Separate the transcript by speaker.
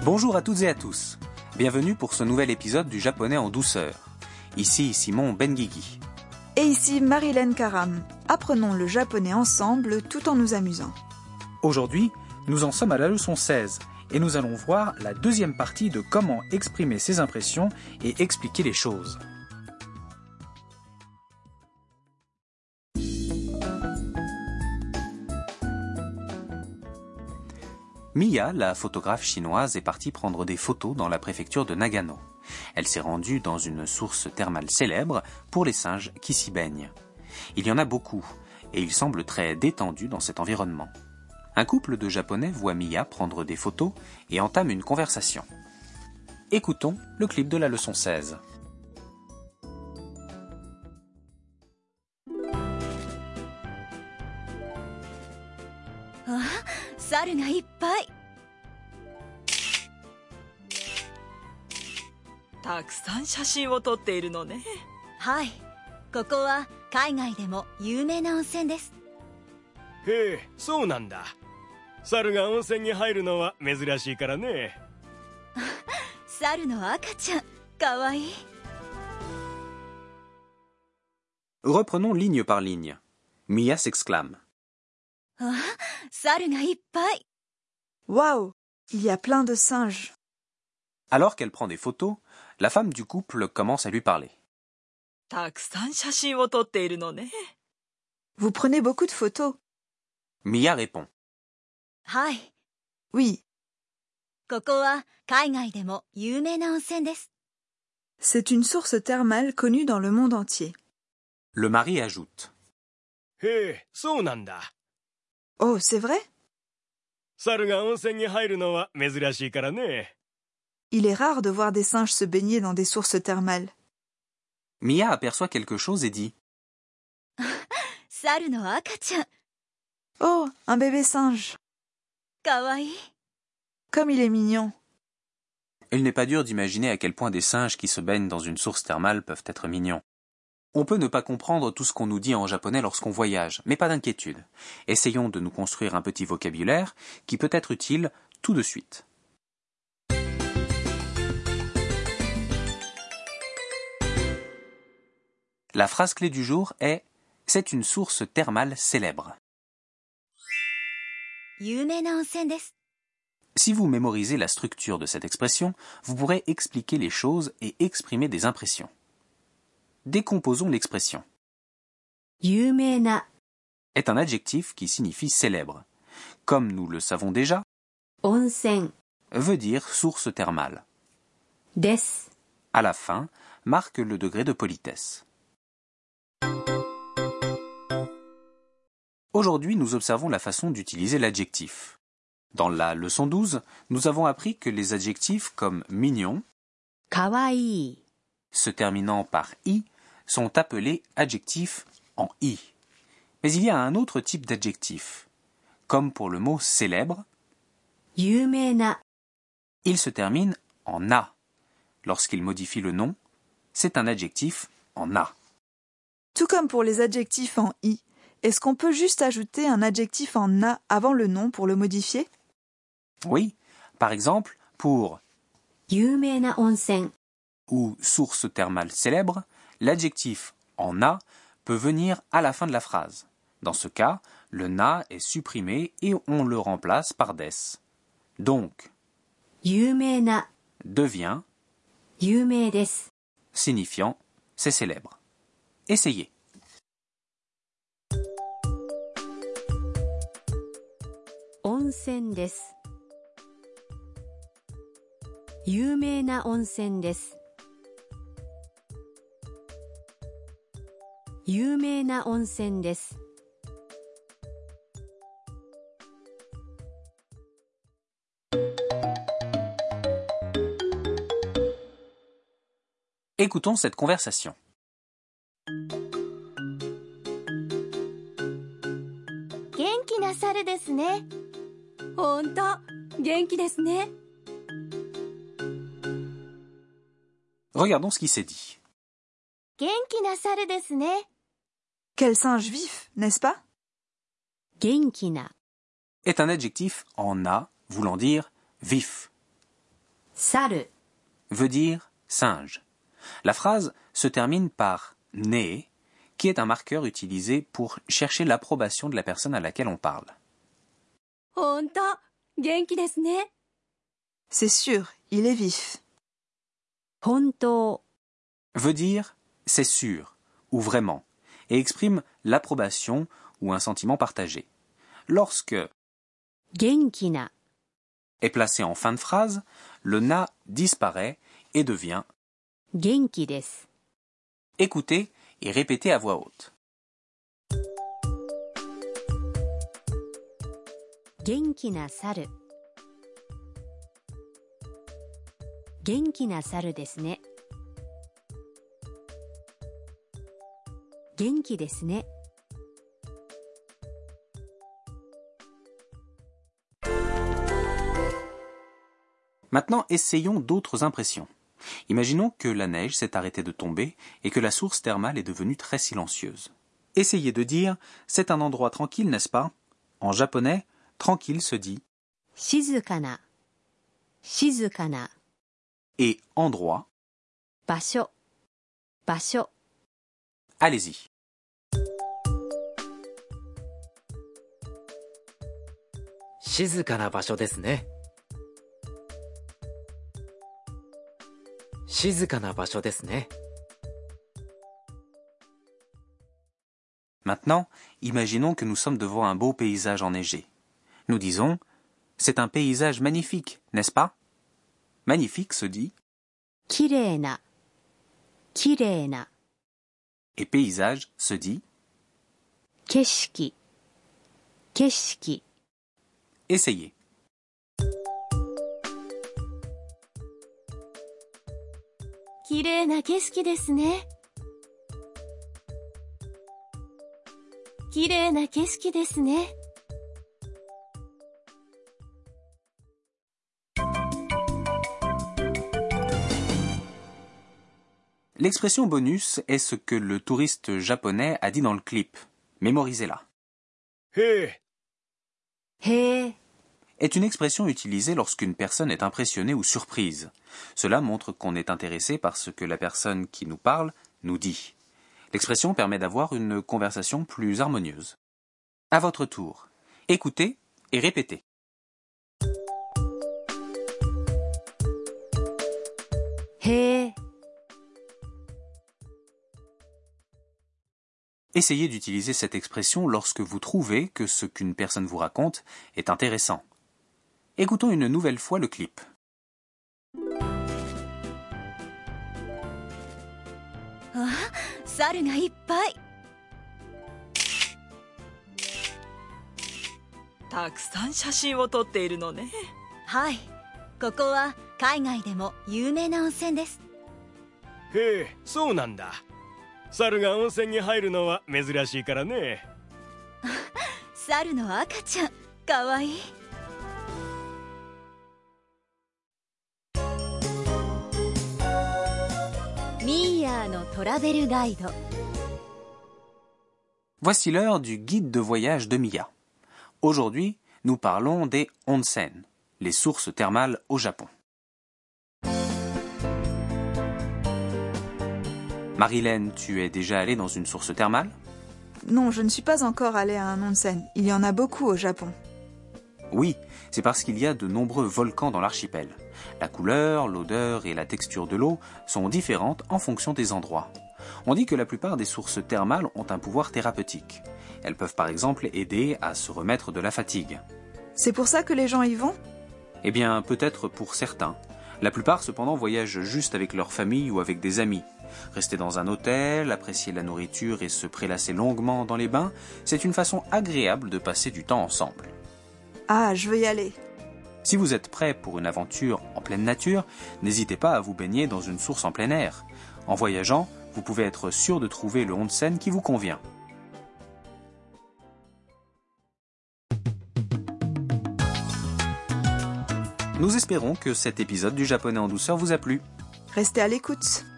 Speaker 1: Bonjour à toutes et à tous. Bienvenue pour ce nouvel épisode du japonais en douceur. Ici Simon Benguigui.
Speaker 2: Et ici Marilyn Karam. Apprenons le japonais ensemble tout en nous amusant.
Speaker 3: Aujourd'hui, nous en sommes à la leçon 16 et nous allons voir la deuxième partie de comment exprimer ses impressions et expliquer les choses.
Speaker 1: Miya, la photographe chinoise, est partie prendre des photos dans la préfecture de Nagano. Elle s'est rendue dans une source thermale célèbre pour les singes qui s'y baignent. Il y en a beaucoup, et ils semblent très détendus dans cet environnement. Un couple de Japonais voit Miya prendre des photos et entame une conversation. Écoutons le clip de la leçon 16.
Speaker 4: 猿がいっぱい。
Speaker 5: たくさん写真を撮っているのね。
Speaker 4: はい、ここは海外でも有名な温泉です。
Speaker 6: へえ、そうなんだ。猿が温泉に入るのは珍しいからね。
Speaker 4: 猿の赤ちゃん、かわいい。
Speaker 1: Reprenons ligne par ligne. Miya s'exclame.
Speaker 4: あ、猿がいっぱい。
Speaker 2: Waouh, il y a plein de singes.
Speaker 1: Alors qu'elle prend des photos, la femme du couple commence à lui parler.
Speaker 5: たくさん写真を撮っているのね。
Speaker 2: Vous prenez beaucoup de photos?
Speaker 1: Miya répond.
Speaker 4: はい、
Speaker 2: Oui,
Speaker 4: ここは海外でも有名な温泉です。
Speaker 2: c'est une source thermale connue dans le monde entier.
Speaker 1: Le mari ajoute.
Speaker 6: へえ、そうなんだ。
Speaker 2: Oh, c'est vrai?
Speaker 6: 猿が温泉に入るのは珍しいからね。
Speaker 2: Il est rare de voir des singes se baigner dans des sources thermales.
Speaker 1: Miya aperçoit quelque chose et dit.
Speaker 4: 猿の赤ちゃん、
Speaker 2: Oh, un bébé singe.
Speaker 4: かわいい。
Speaker 2: Comme il est mignon.
Speaker 1: Il n'est pas dur d'imaginer à quel point des singes qui se baignent dans une source thermale peuvent être mignons. On peut ne pas comprendre tout ce qu'on nous dit en japonais lorsqu'on voyage, mais pas d'inquiétude. Essayons de nous construire un petit vocabulaire qui peut être utile tout de suite. La phrase clé du jour est « C'est une source thermale célèbre ».
Speaker 4: 有名な温泉です。
Speaker 1: Si vous mémorisez la structure de cette expression, vous pourrez expliquer les choses et exprimer des impressions. Décomposons l'expression.
Speaker 4: 有名な
Speaker 1: Est un adjectif qui signifie célèbre. Comme nous le savons déjà,
Speaker 4: 温泉
Speaker 1: veut dire source thermale.
Speaker 4: です。
Speaker 1: À la fin, marque le degré de politesse. Aujourd'hui, nous observons la façon d'utiliser l'adjectif. Dans la leçon 12, nous avons appris que les adjectifs comme mignon,
Speaker 4: かわいい。
Speaker 1: se terminant par i, sont appelés adjectifs en i. Mais il y a un autre type d'adjectif. Comme pour le mot célèbre,
Speaker 4: 有名な
Speaker 1: il se termine en a. Lorsqu'il modifie le nom, c'est un adjectif en a.
Speaker 2: Tout comme pour les adjectifs en i, est-ce qu'on peut juste ajouter un adjectif en a avant le nom pour le modifier?
Speaker 1: Oui, par exemple, pour
Speaker 4: 有名な温泉。
Speaker 1: ou source thermale célèbre, l'adjectif en a peut venir à la fin de la phrase. Dans ce cas, le na est supprimé et on le remplace par des. Donc,
Speaker 4: 有名な
Speaker 1: devient
Speaker 4: 有名です。
Speaker 1: signifiant c'est célèbre. Essayez.
Speaker 4: 温泉です。有名な温泉です。有名な温泉です。
Speaker 1: Écoutons cette conversation.
Speaker 4: 元気な猿ですね。ほんと、元気ですね。
Speaker 1: Regardons ce qui s'est dit.
Speaker 4: 元気な猿ですね。
Speaker 2: Quel singe vif, n'est-ce pas?
Speaker 4: 元気な
Speaker 1: est un adjectif en a voulant dire vif.
Speaker 4: 猿
Speaker 1: veut dire singe. La phrase se termine par ne, qui est un marqueur utilisé pour chercher l'approbation de la personne à laquelle on parle.
Speaker 4: ほんと元気ですね
Speaker 2: C'est sûr, il est vif.
Speaker 4: 本当
Speaker 1: Veut dire c'est sûr ou vraiment et exprime l'approbation ou un sentiment partagé. Lorsque
Speaker 4: 元気な
Speaker 1: est placé en fin de phrase, le na disparaît et devient
Speaker 4: 元気です
Speaker 1: écoutez et répétez à voix haute.
Speaker 4: 元気な猿元気な猿ですね元気ですね
Speaker 1: Maintenant, essayons d'autres impressions. Imaginons que la neige s'est arrêtée de tomber et que la source thermale est devenue très silencieuse. Essayez de dire « c'est un endroit tranquille, n'est-ce pas ?» En japonais, tranquille se dit
Speaker 4: 静かな静かな
Speaker 1: et endroit,
Speaker 4: 場所場所
Speaker 1: allez-y.
Speaker 7: 静かな場所ですね。静かな場所ですね。
Speaker 1: Maintenant, imaginons que nous sommes devant un beau paysage enneigé. Nous disons « c'est un paysage magnifique, n'est-ce pas ?» Magnifique se dit
Speaker 4: きれいなきれいな
Speaker 1: et paysage se dit
Speaker 4: 景色景色
Speaker 1: essayez.
Speaker 4: きれいな景色ですねきれいな景色ですね
Speaker 1: L'expression bonus est ce que le touriste japonais a dit dans le clip. Mémorisez-la.
Speaker 6: へえ
Speaker 4: へえ
Speaker 1: Est une expression utilisée lorsqu'une personne est impressionnée ou surprise. Cela montre qu'on est intéressé par ce que la personne qui nous parle nous dit. L'expression permet d'avoir une conversation plus harmonieuse. À votre tour, écoutez et répétez.
Speaker 4: へえ
Speaker 1: Essayez d'utiliser cette expression lorsque vous trouvez que ce qu'une personne vous raconte est intéressant. Écoutons une nouvelle fois le clip.
Speaker 4: 猿がいっぱい
Speaker 5: たくさん写真を撮っているのね。
Speaker 8: はい、ここは海外でも有名な温泉です。
Speaker 6: へえそうなんだ猿が温泉に入るのは珍しいからね
Speaker 8: 猿の赤ちゃん、かわいい。ミーヤーのトラベルガイド。
Speaker 1: Voici l'heure du guide de voyage de Mia. Aujourd'hui, nous parlons des onsen, les sources thermales au Japon. Marilyn, tu es déjà allée dans une source thermale ?
Speaker 2: Non, je ne suis pas encore allée à un onsen. Il y en a beaucoup au Japon.
Speaker 1: Oui, c'est parce qu'il y a de nombreux volcans dans l'archipel. La couleur, l'odeur et la texture de l'eau sont différentes en fonction des endroits. On dit que la plupart des sources thermales ont un pouvoir thérapeutique. Elles peuvent par exemple aider à se remettre de la fatigue.
Speaker 2: C'est pour ça que les gens y vont ?
Speaker 1: Eh bien, peut-être pour certains. La plupart, cependant, voyagent juste avec leur famille ou avec des amis. Rester dans un hôtel, apprécier la nourriture et se prélasser longuement dans les bains, c'est une façon agréable de passer du temps ensemble.
Speaker 2: Ah, je veux y aller.
Speaker 1: Si vous êtes prêt pour une aventure en pleine nature, n'hésitez pas à vous baigner dans une source en plein air. En voyageant, vous pouvez être sûr de trouver le onsen qui vous convient. Nous espérons que cet épisode du Japonais en douceur vous a plu.
Speaker 2: Restez à l'écoute.